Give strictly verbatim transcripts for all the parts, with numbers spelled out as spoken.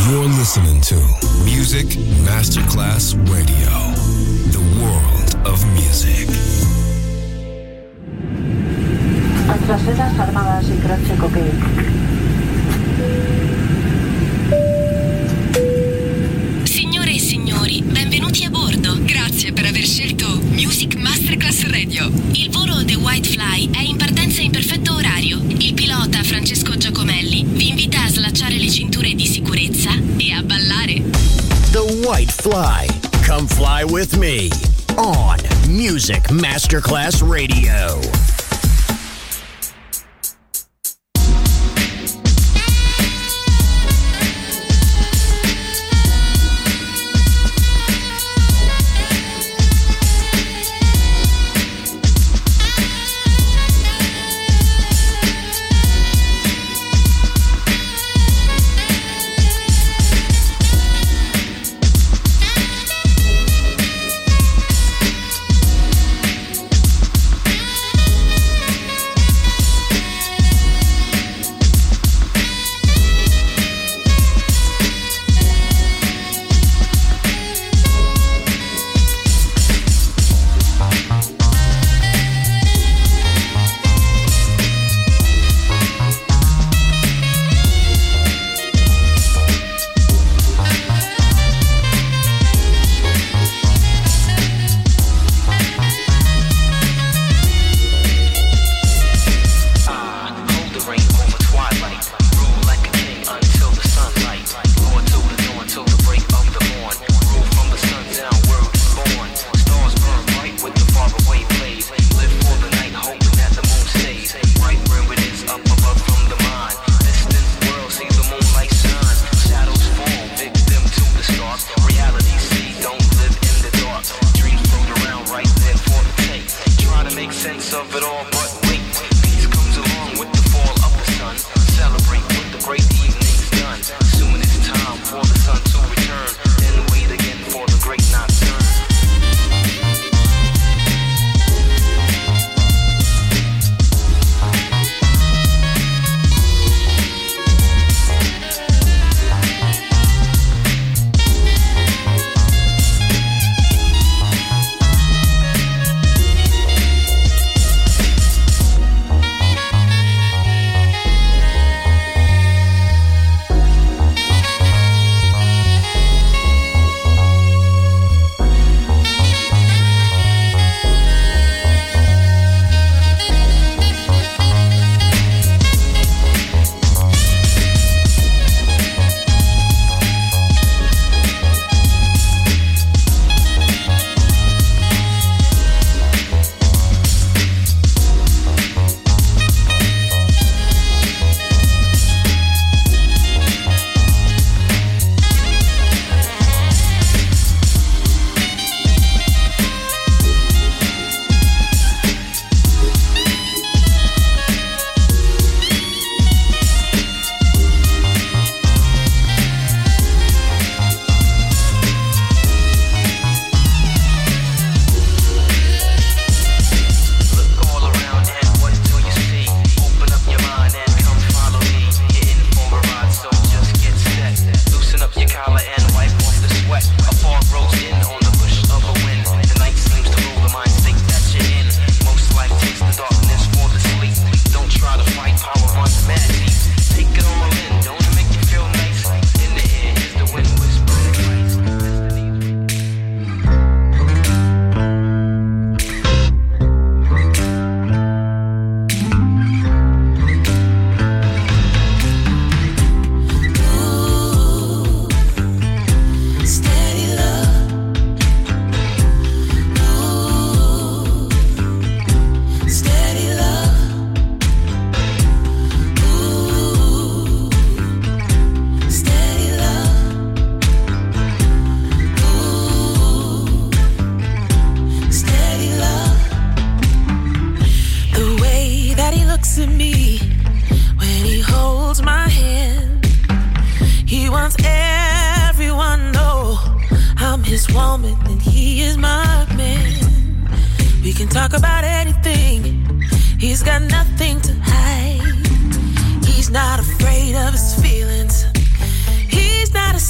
You're listening to Music Masterclass Radio, the world of music. Antrasedas armadas y croce cocaine. Signore e signori, benvenuti a bordo. Grazie per aver scelto Music Masterclass Radio. Il volo The White Fly è in partenza in perfetto orario. Il pilota Francesco Giacomelli vi invita a slacciare le cinture di sicurezza e a ballare. The White Fly. Come fly with me on Music Masterclass Radio. He's not afraid of his feelings. He's not a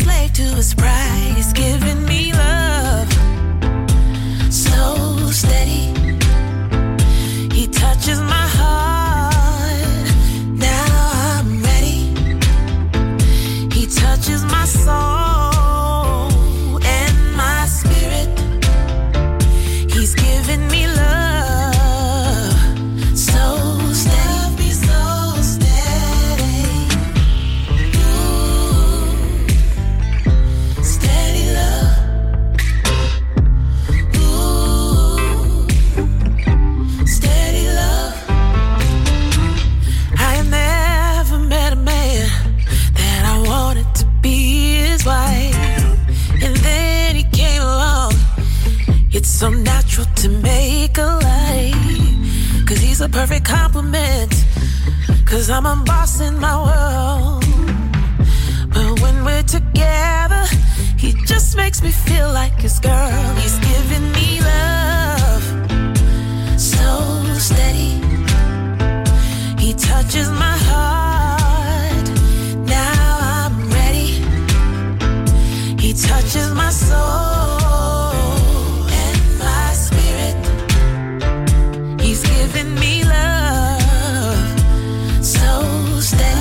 a perfect compliment, 'cause I'm a boss in my world. But when we're together, he just makes me feel like his girl. He's giving me love, so steady. He touches my heart, now I'm ready. He touches my soul and my spirit. He's giving me love, so steady.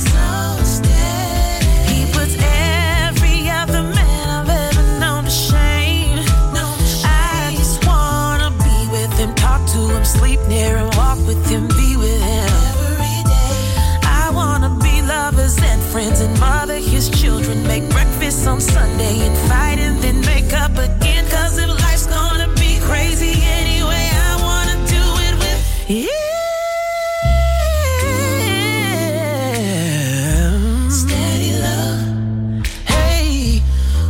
He puts every other man I've ever known to shame. I just wanna be with him, talk to him, sleep near him, walk with him, be with him. I wanna be lovers and friends and mother his children, make breakfast on Sunday and fight and then make up again. 'Cause if life's gonna be crazy anyway, I wanna do it with him. Steady love, hey,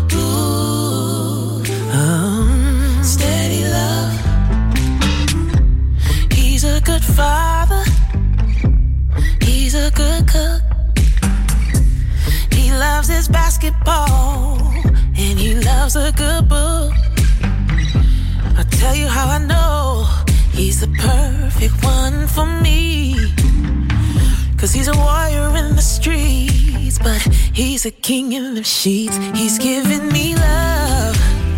ooh, um, steady love. He's a good father, he's a good cook. He loves his basketball and he loves a good book. I'll tell you how I know he's the perfect one for me. 'Cause he's a warrior in the streets, but he's a king in the sheets. He's giving me love,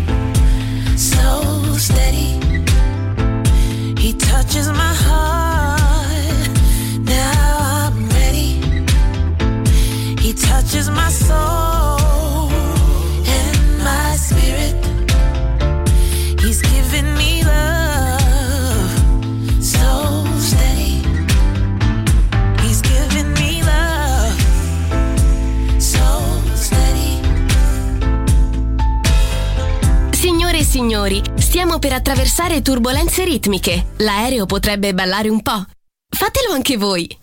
so steady. He touches my heart, now I'm ready. He touches my soul and my spirit. He's giving me love, so steady. He's giving me love, so steady. Signore e signori, stiamo per attraversare turbolenze ritmiche. L'aereo potrebbe ballare un po'. Fatelo anche voi.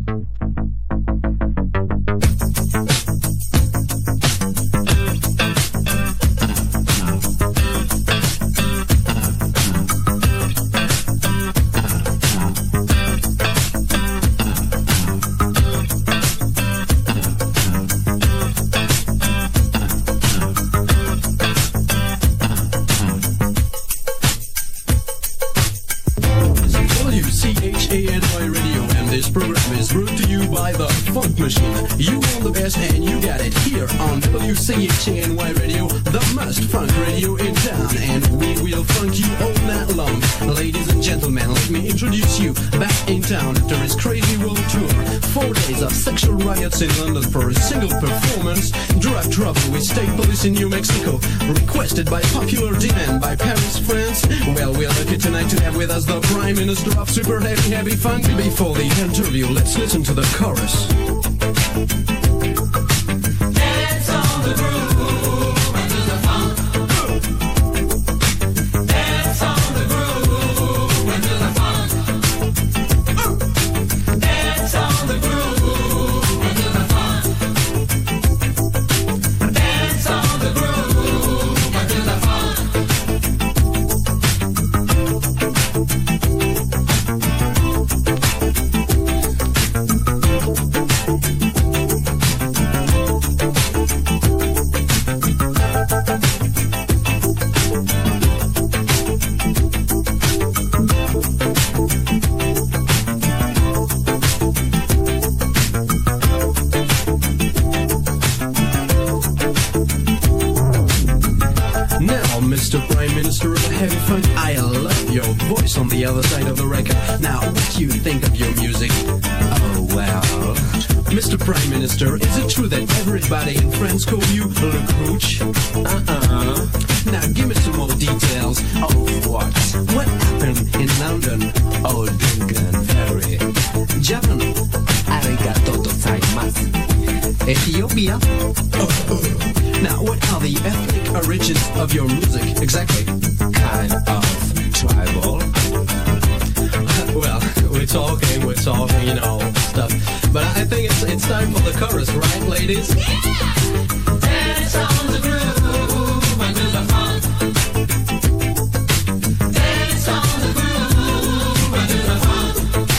Funk Machine. You want the best and you got it here on W C H A N Y Radio, the most funk radio in town, and we will funk you all night long. Ladies and gentlemen, let me introduce you back in town after his crazy world tour. Four days of sexual riots in London for a single performance, drug trouble with state police in New Mexico, requested by popular demand by Paris, France. Well, we're lucky tonight to have with us the Prime Minister of Super Heavy Heavy Funk. Before the interview, let's listen to the chorus. Dance on the groove into the funk. Dance on the groove into the funk. Dance on the groove into the funk. Dance on the groove into the funk. Mister Prime Minister of Heavy Funk, I love your voice on the other side of the record. Now, what do you think of your music? Oh, well... Mister Prime Minister, is it true that everybody in France call you Le Crouch? Uh-uh. Now, give me some more details. Of what? What happened in London? Oh, Duncan Ferry. Japan? Arigato gozaimasu. Ethiopia? Uh-uh. Now, what are the ethnic origins of your music, exactly? Kind of tribal. Well, we're talking, we're talking, you know, stuff. But I think it's it's time for the chorus, right, ladies? Yeah! Dance on the groove and do the funk. Dance on the groove and do the funk.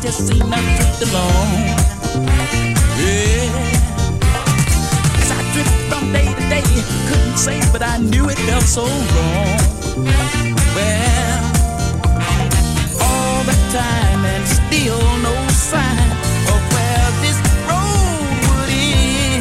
just seemed to drift along. Yeah. As I drifted from day to day, couldn't say, but I knew it felt so wrong. Well, all that time and still no sign of where this road would end.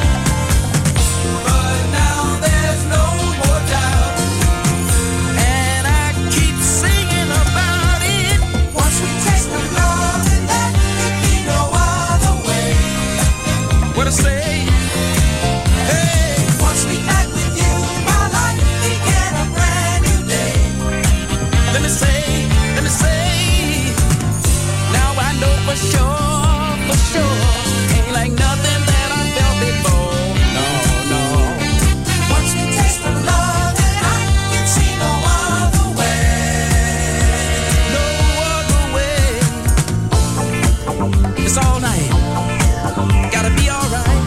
But now there's no more doubt, and I keep singing about it. Once we taste the love, and that could be no other way. What I say? Hey, once we act with you, my life began a brand new day. Let me say, let me say, now I know for sure, for sure, ain't like nothing that I felt before. No, no. Once we taste the love, and I can see no other way. No other way. It's all night. Gotta be alright.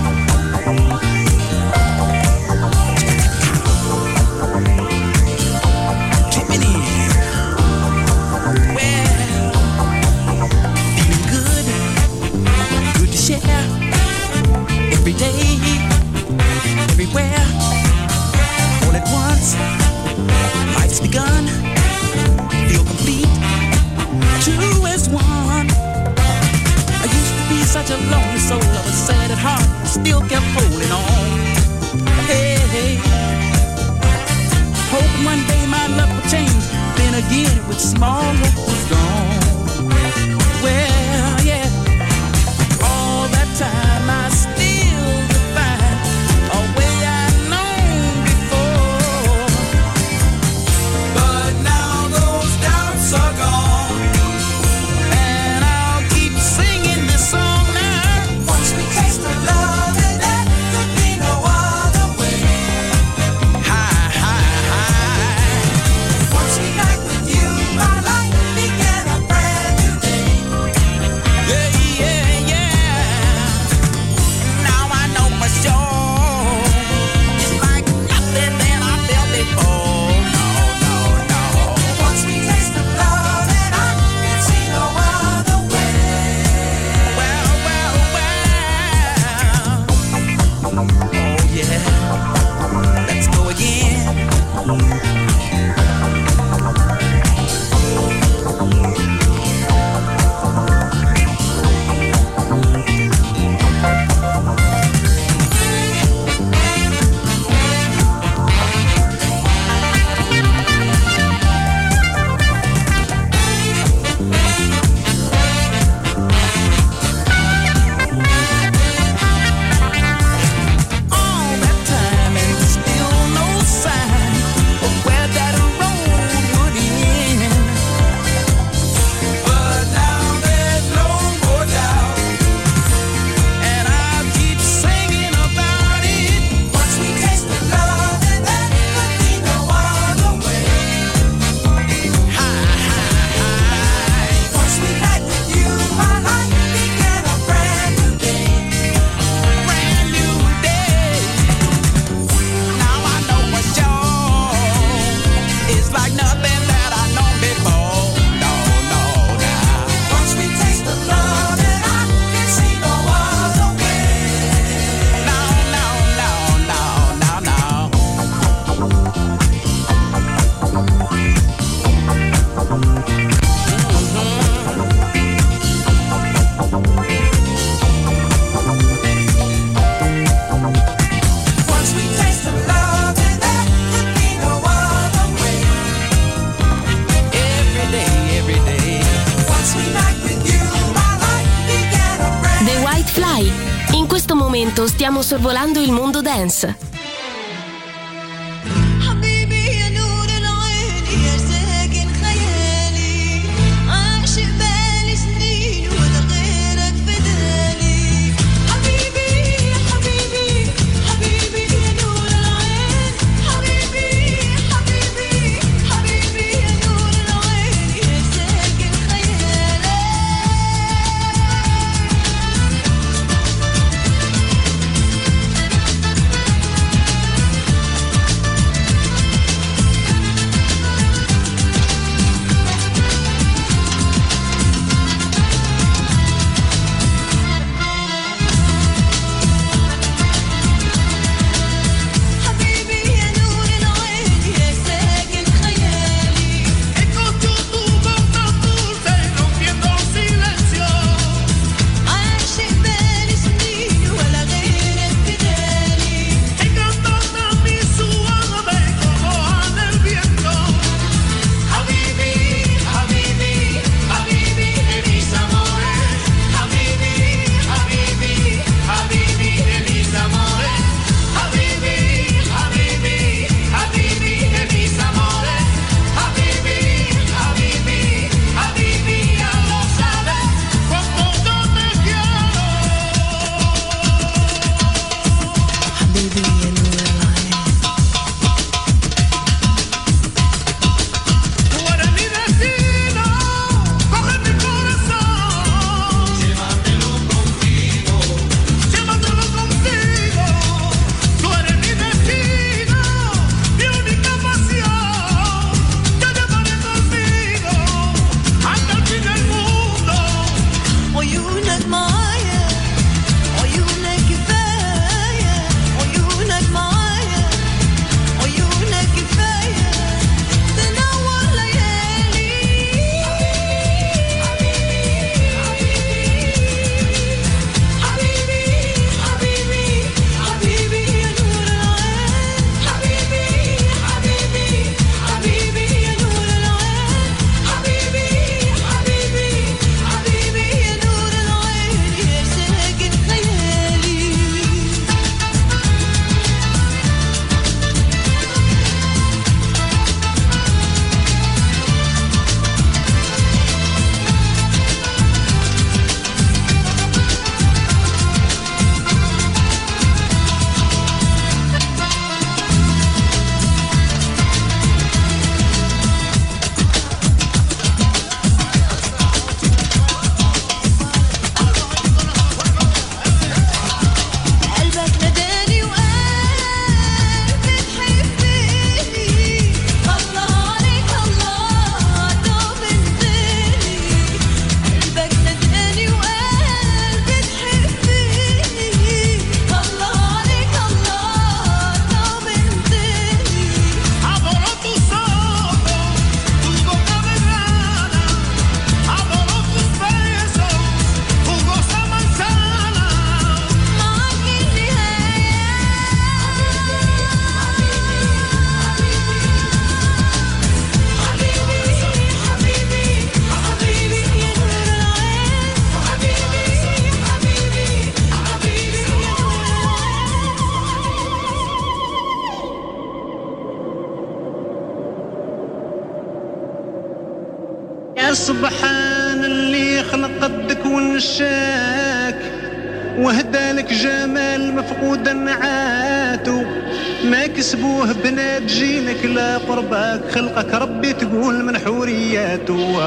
Coming in. Well, feeling good, good to share. Every day, everywhere, all at once. Life's begun. Feel complete. Two as one. I used to be such a lonely soul. I was sad at heart, still kept holding on. Hey, hey. Hoping one day my luck would change. Then again, with small hope was gone. Well, yeah. All that time I still define a way I'd known before. But now those doubts are gone, and I'll keep singing this song now. Once we taste the love, and that could be no other way. High, high, high. Once we night with you, my life began a brand new day. Yeah, yeah, yeah. Now I know for sure it's like nothing that I felt before. No, no, no. Once we taste the love, and I can see no other way. Well, well, well. Oh yeah. Let's go again. All that time and still no sign of where that road would end. But now there's no more doubt, and I'll keep singing about it. Once we taste the love, and that could be no other way. High, high, high. Once we night with you, my life began a brand new day. Brand new day. Now I know for sure it's like nothing that I know before. No, no, now. Once we taste the love, and I can see no other way. No, no, no, no, no, no. Once we taste the love, and that could be no other way. Every day, every day. Once we night with you, my life began a brand The White Fly. In questo momento stiamo sorvolando il mondo dance. حبيبي يا نور العين يا ساكن خيالي عاشق بالي سنين ولا غيرك فدالي حبيبي يا حبيبي حبيبي يا نور العين حبيبي حبيبي حبيبي يا نور العين يا ساكن خيالي سبحان اللي خلق الدك ونشاك وهدالك جمال مفقود نعاتو ما كسبوه بنات جيلك لا قرباك خلقك ربي تقول من حورياتو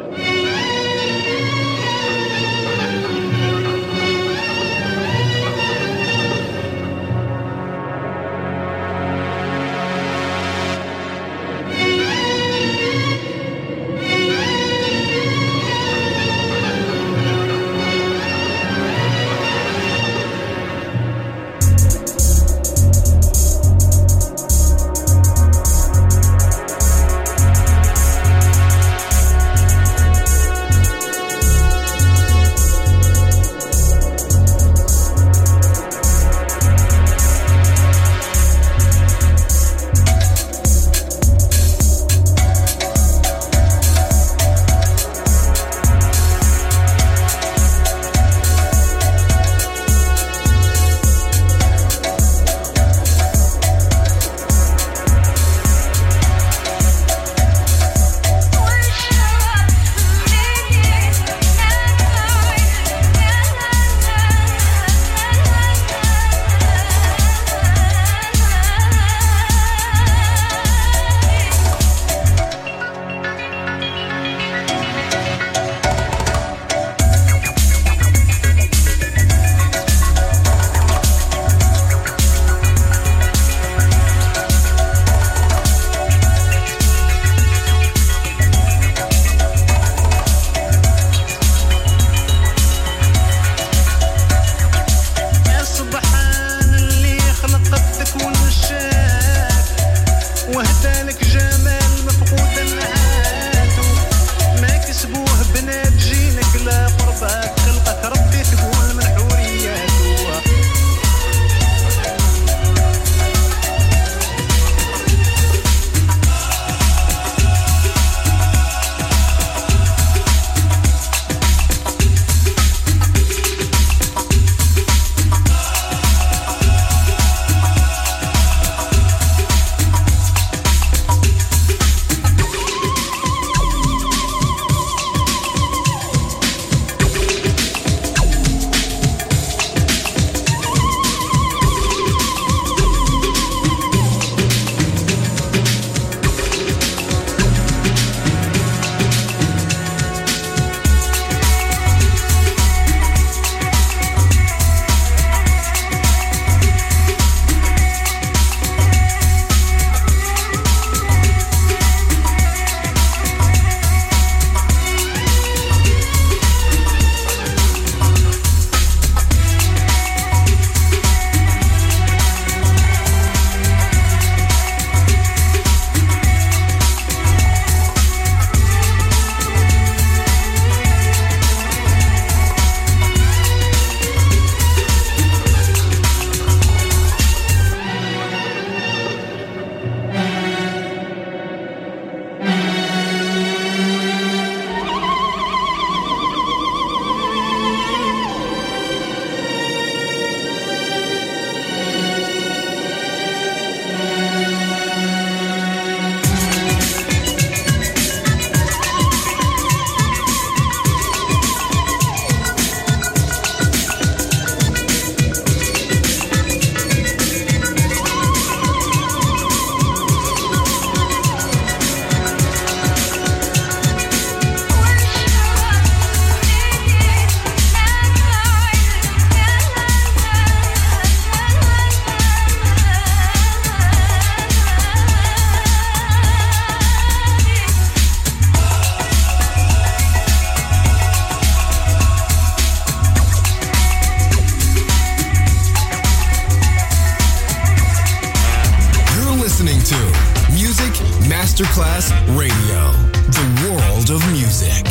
Masterclass Radio, the world of music.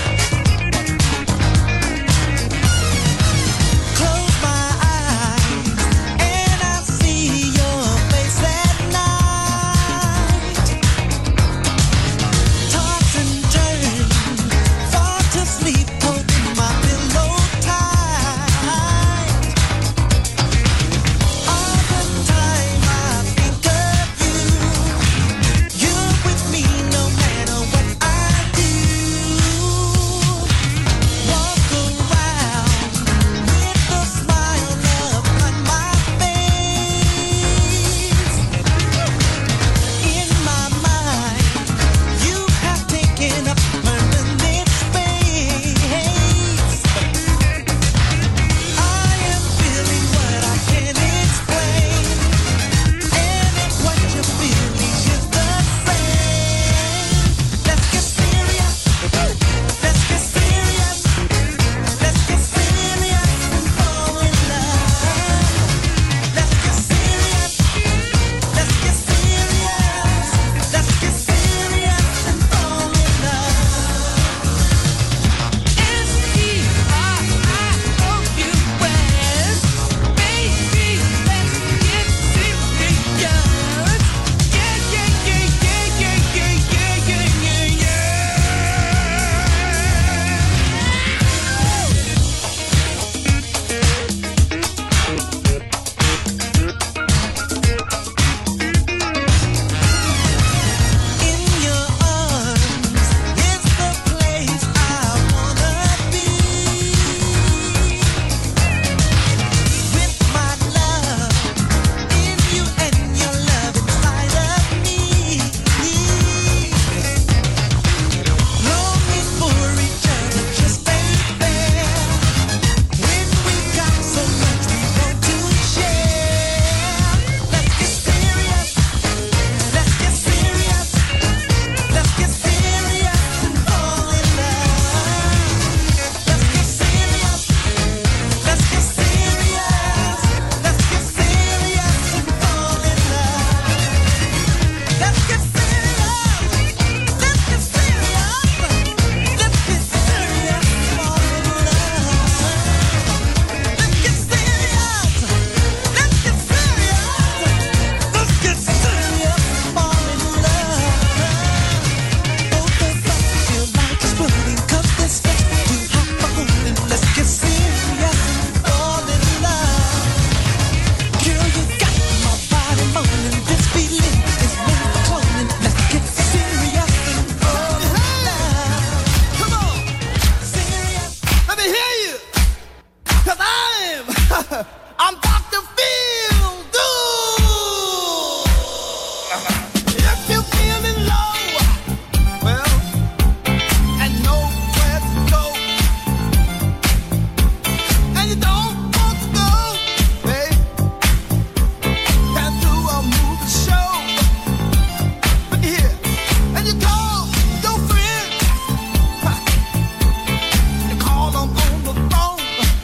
Close my eyes. 'cause I'm, I'm Doctor Feel Good. If you're feeling low, well, and nowhere to go, and you don't want to go, babe, can't do a movie show, but here, and you call your friend, you call them on the phone,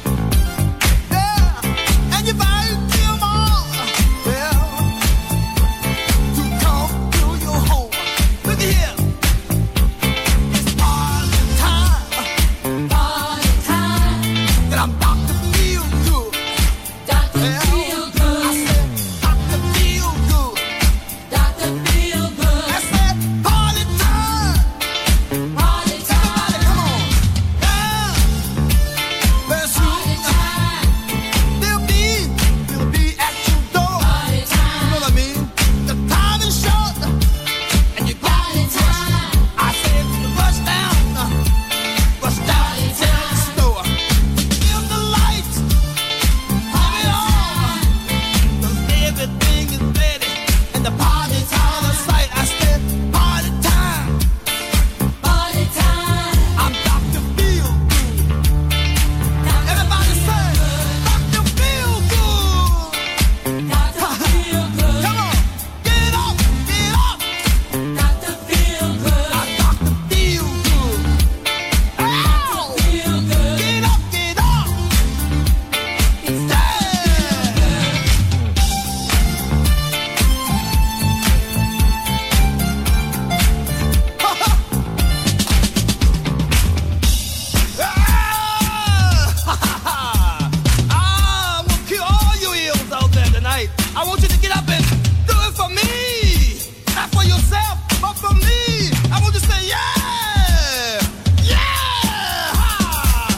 yeah, and you invite them all, well, to come to your home. Look here, it's party time, party time, and I'm Doctor Feel Good, Doctor Feel Good. I said Doctor Feel Good, Doctor Feel Good. I said party time, party time. Come on, yeah, very soon they'll be, they'll be at your door. Party time. You know what I mean? The time is short, and you got to rush. I said rush down, uh, rush down to the store. Dim the lights, have it on, 'cause everything is ready, and the party's on the sight. I said party time, party time. I'm Doctor Feel Good. Everybody say Doctor Feel Good. Doctor Feel Good. Come on, get up, get up. Doctor Feel Good. I'm Doctor Feel Good. Ow! Feel Good. Get up, get up. Yeah. Ah, I'm gonna kill all you eels out there tonight. I want you to get up and do it for me. Not for yourself, but for me. I want you to say, yeah! Yeah! Ha!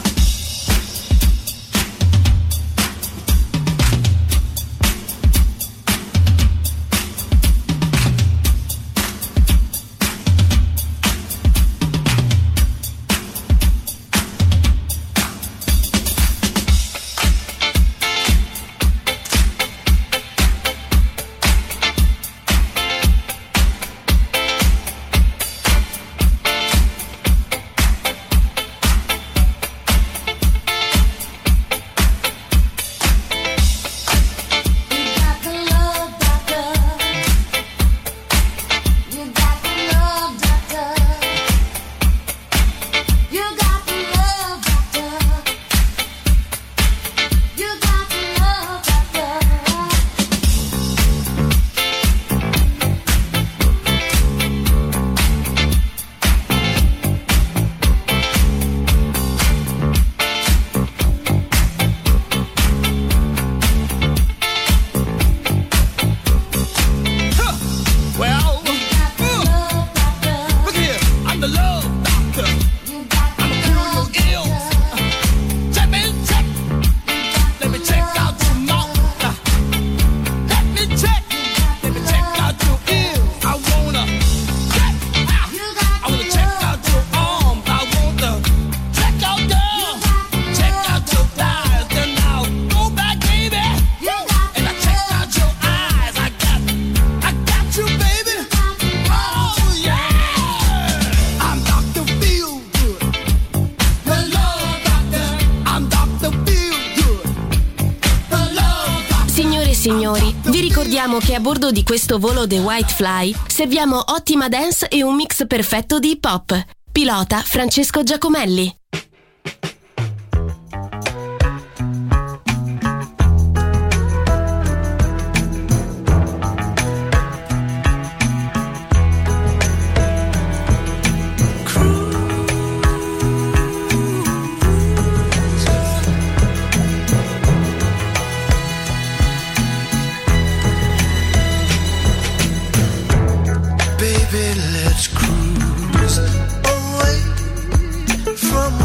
Huh. Well, uh, look here, I'm the love doctor. I'm a cure your ills. Check me, check. Let me check out your mouth. Uh, Let me check. Let me check out your ears. I wanna check. Ah, I wanna check out your arms. I wanna check out girl. Check out your thighs. Then I'll go back, baby. And I check out your eyes. I got, I got you, baby. Oh yeah. I'm Doctor Feel Good, the love doctor. I'm Doctor Feel Good, the love doctor. Signore e signori, vi ricordiamo che a bordo di questo volo The White Fly serviamo ottima dance e un mix perfetto di hip hop. Pilota Francesco Giacomelli. Baby, let's cruise away from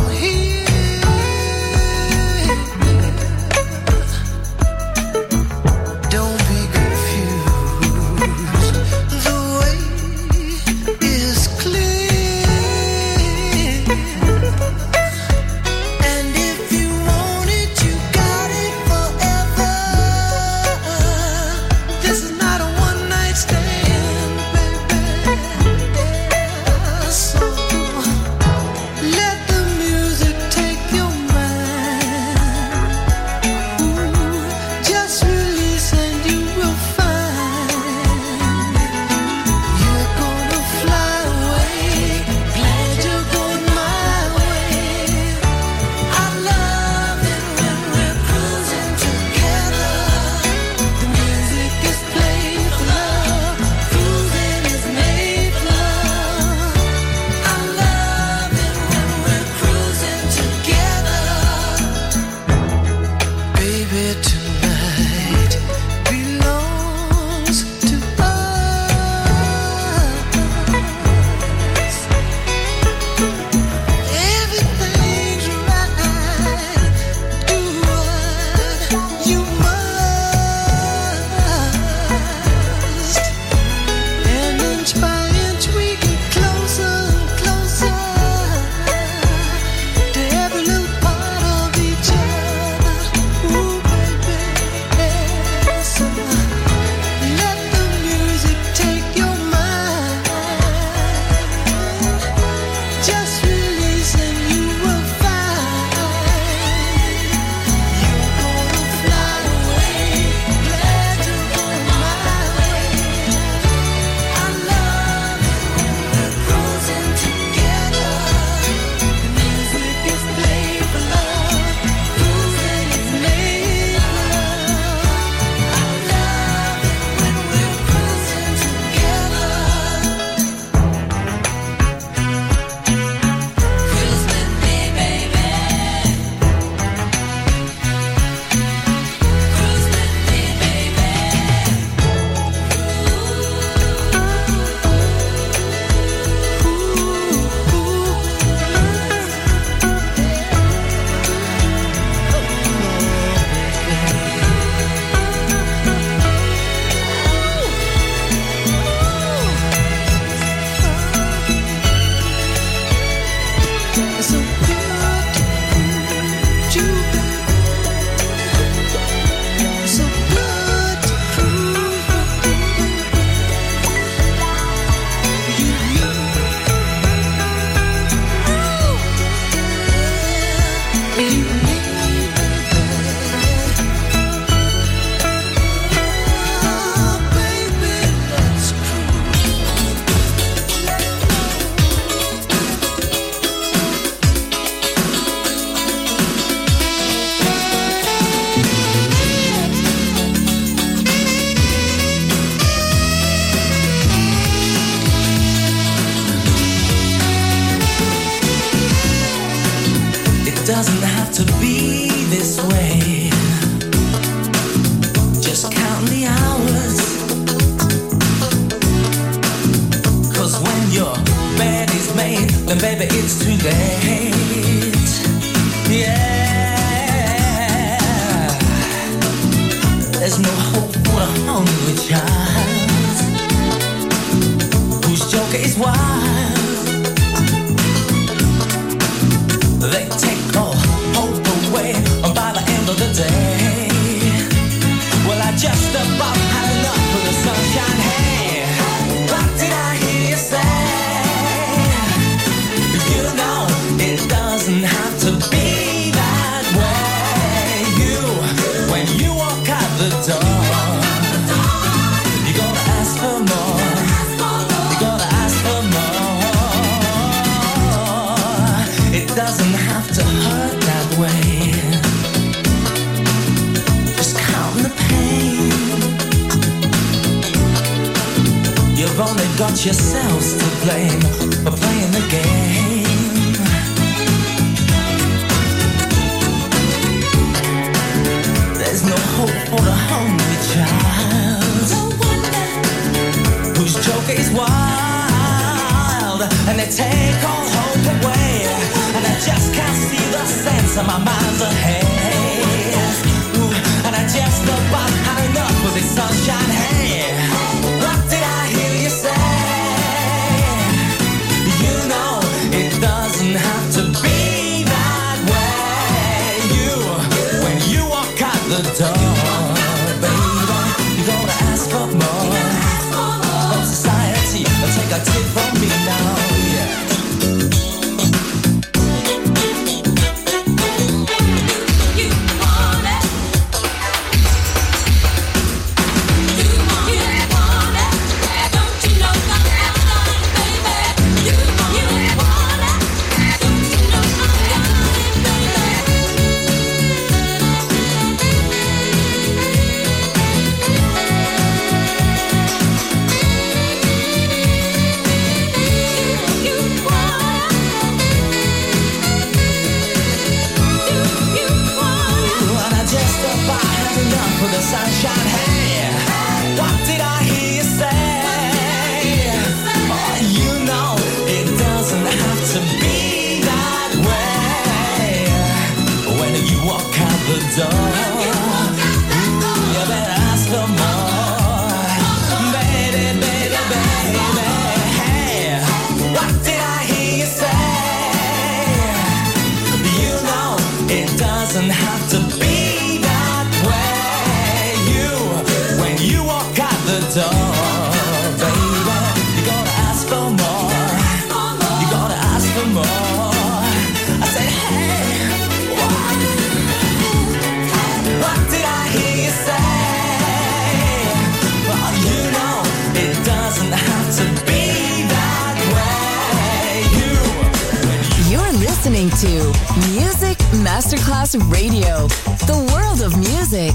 this way. Just count the hours, 'cause when your bed is made, then baby it's too late. Yeah, there's no hope for a hungry child whose joker is wild. They take all hope away by the end of the day. Well, I just about had enough of the sunshine. Hey, what did I hear you say? You know it doesn't have to be that way. You, when you walk out the door, you gotta ask for more. You gotta ask for more. It doesn't have to hurt that way. Just count the pain. You've only got yourselves to blame for playing the game. There's no hope for a hungry child whose joke is wild, and they take all hope away. And I just can't see the sense of my mind's ahead. Ooh, and I just about had enough of this sunshine. Hey, what did I hear you say? You know it doesn't have to be that way. You, when you walk out the door, baby, you gotta ask for more. From society, take a tip from me now. Yeah. The sunshine, hey, what did I hear you say? Oh, you know it doesn't have to be that way. When you walk out the door, ooh, you better ask for more. Baby, baby, baby, hey, what did I hear you say? You know it doesn't have to be. You walk out the door, baby, you gotta ask for more. You gotta ask for more. I said, hey, what? What did I hear you say? Well, you know it doesn't have to be that way. You, you You're listening to Music Masterclass Radio, the world of music.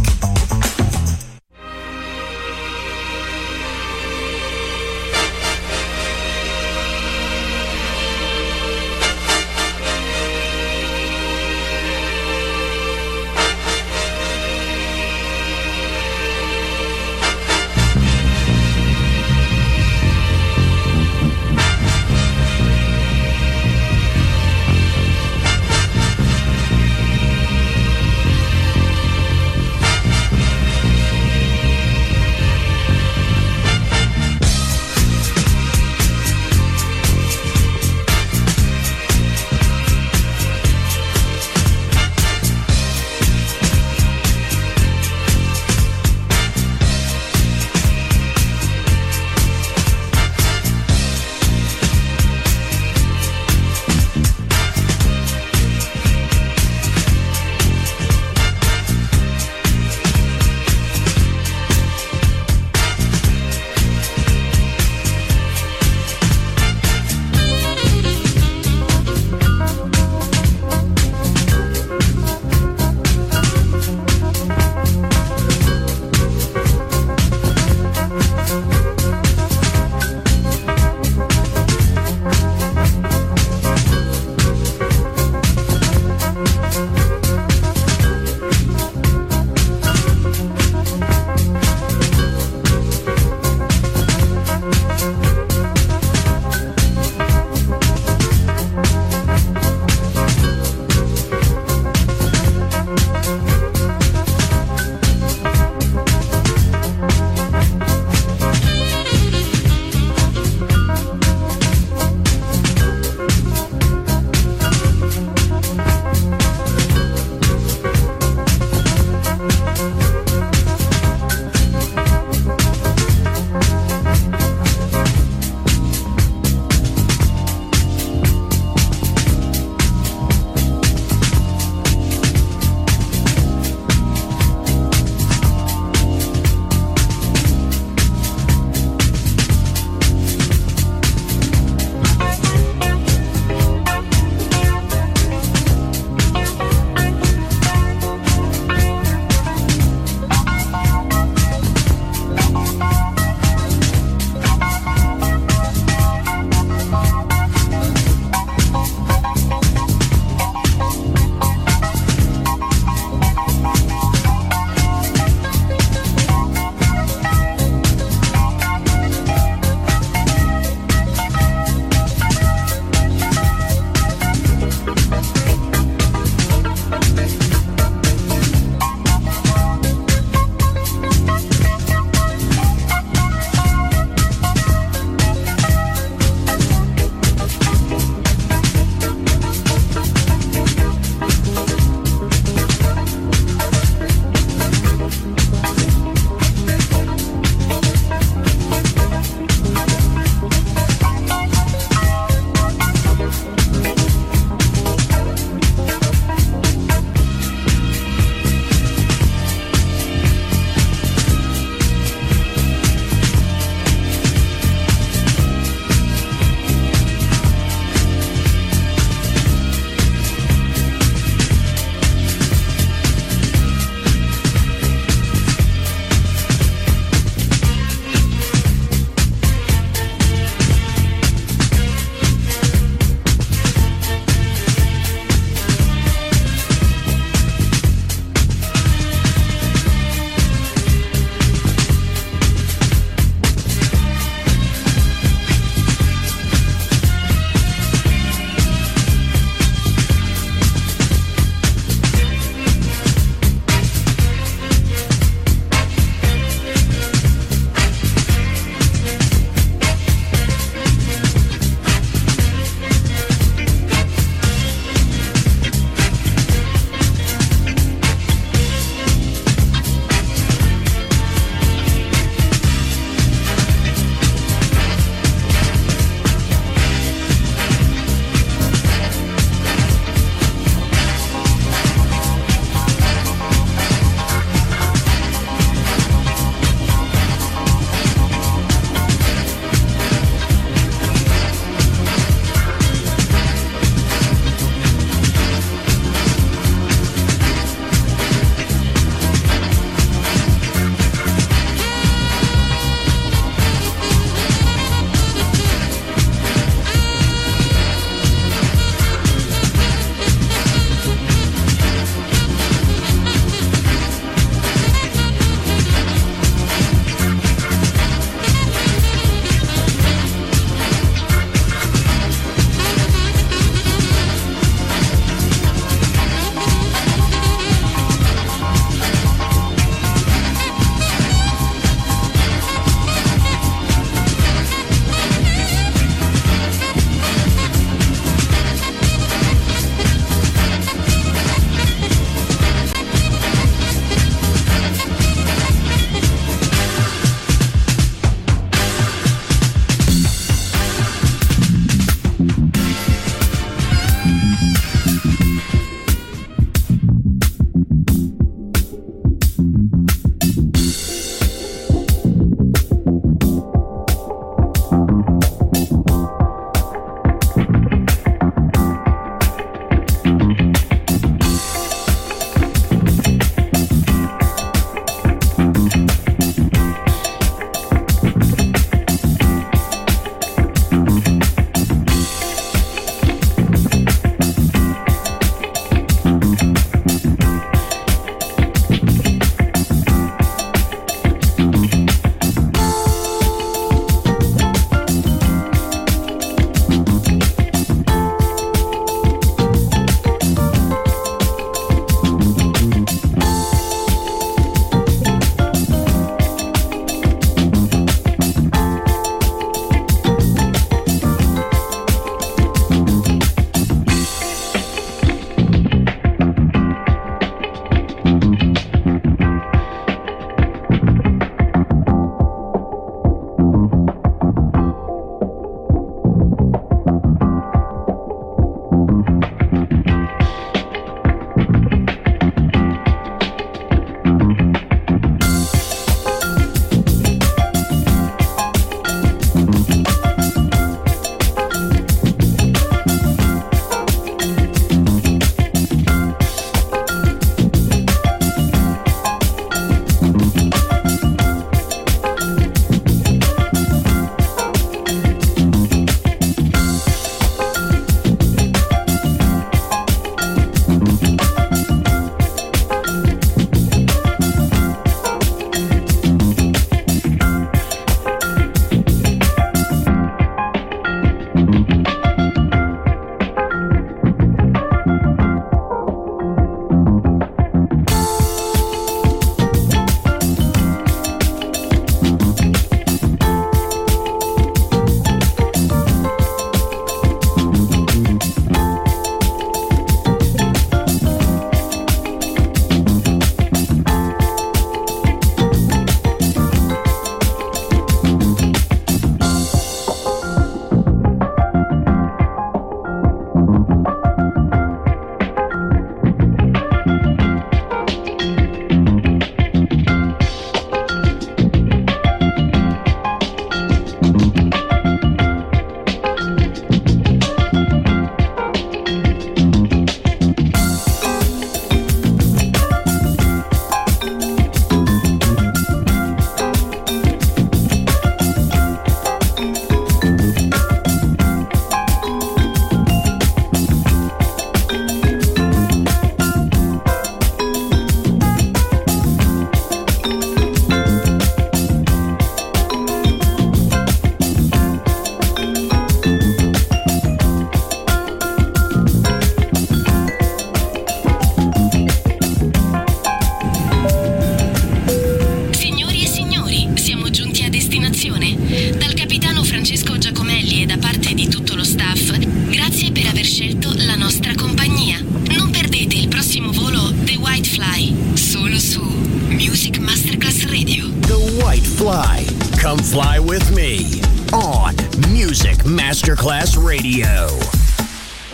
Come fly with me on Music Masterclass Radio.